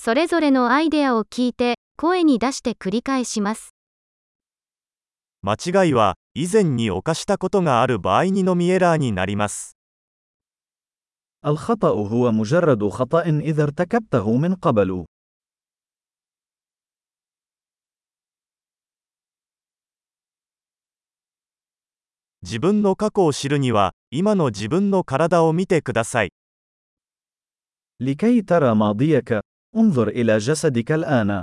それぞれのアイデアを聞いて、声に出して繰り返します。 間違いは、以前に犯したことがある場合にのみエラーになります。 الخطأ هو مجرد خطأ إذا ارتكبته من قبل. 自分の過去を知るには、今の自分の体を見てください。 لكي ترى ماضيك، انظر إلى جسدك الآن.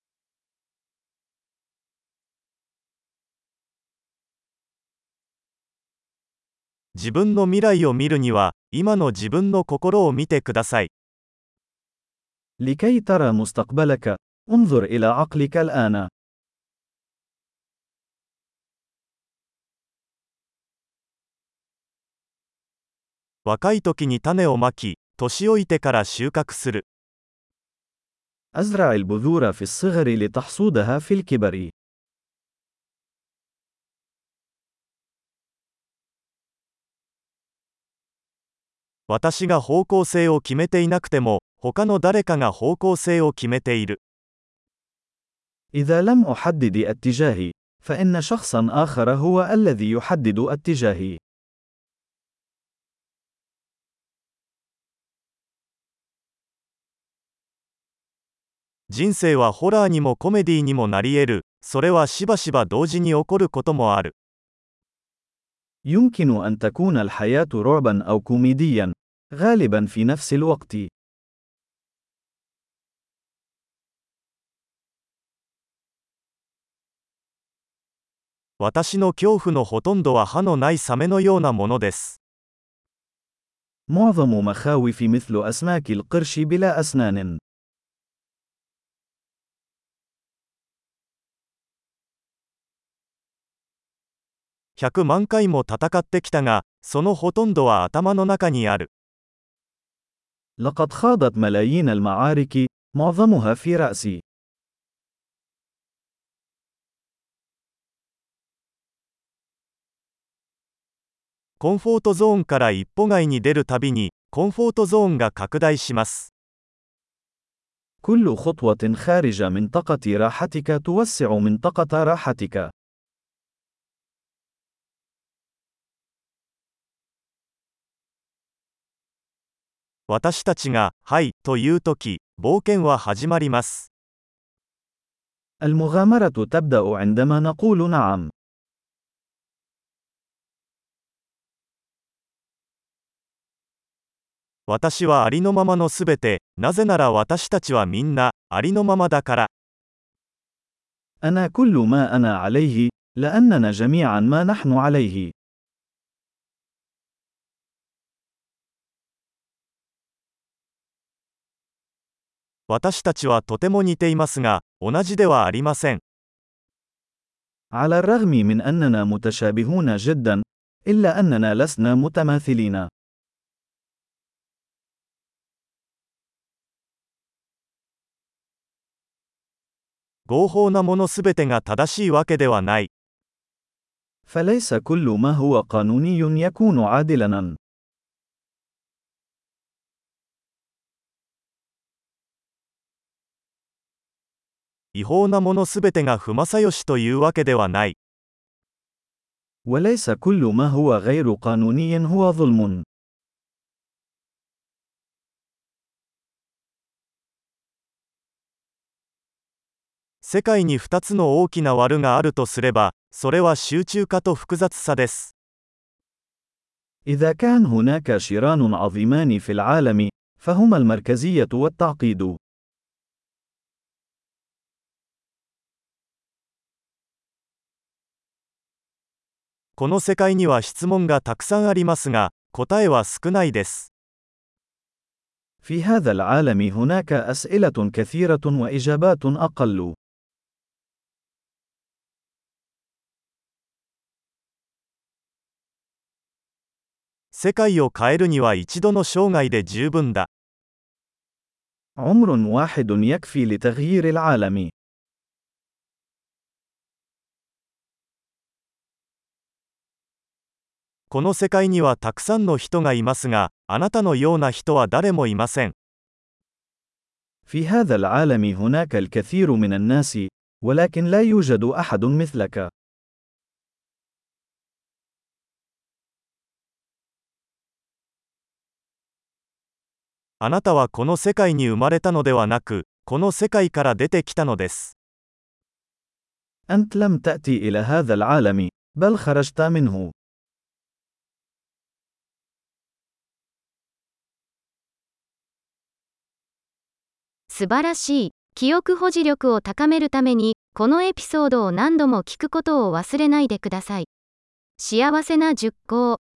自分の未来を見るには、今の自分の心を見てください。 لكي ترى مستقبلك، انظر إلى عقلك الآن. 若い時に種をまき、年老いてから収穫する。 أزرع البذور في الصغر لتحصودها في الكبر. 私が方向性を決めていなくても、他の誰かが方向性を決めている。 إذا لم أحدد اتجاهي، فإن شخصا آخر هو الذي يحدد اتجاهي. 人生はホラーにもコメディにもなり得る。それはしばしば同時に起こることもある。 يمكن أن تكون الحياة رعبا أو كوميديا، غالبا في نفس الوقت. 私の恐怖のほとんどは歯のないサメのようなものです。 معظم مخاوفي مثل أسماك القرش بلا أسنان. 100万回も戦ってきたが、そのほとんどは頭の中にある。 لقد خاضت ملايين المعارك، معظمها في رأسي. コンフォートゾーンから一歩外に出るたびに、コンフォートゾーンが拡大します。 كل خطوة خارج منطقة راحتك توسع منطقة راحتك. 私たちが、はい、というとき、冒険は始まります。 المغامرة تبدأ عندما نقول نعم. 私はありのままのすべて、なぜなら私たちはみんな、ありのままだから。 أنا كل ما أنا عليه، لأننا جميعا ما نحن عليه. 私たちはとても似ていますが、同じではありません。 على الرغم من أننا متشابهون جدا، إلا أننا لسنا متماثلين. 合法なものすべてが正しいわけではない。 فليس كل ما هو قانوني يكون عادلاً. 違法なものすべてが不正義というわけではない。 وليس كل ما هو غير قانوني هو ظلم. 世界に2つの大きな悪があるとすれば、それは集中化と複雑さです。 إذا كان هناك شران عظيمان في العالم، فهما المركزية والتعقيد. この世界には質問がたくさんありますが、答えは少ないです。 في هذا العالم هناك أسئلة كثيرة وإجابات أقل. 世界を変えるには一度の生涯で十分だ。 عمر واحد يكفي لتغيير العالم. この世界にはたくさんの人がいますが、あなたのような人は誰もいません。 في هذا العالم هناك الكثير من الناس، ولكن لا يوجد أحد مثلك. あなたはこの世界に生まれたのではなく、この世界から出てきたのです。 أنت لم تأتي إلى هذا العالم، بل خرجت منه. 素晴らしい。記憶保持力を高めるために、このエピソードを何度も聞くことを忘れないでください。幸せな熟考。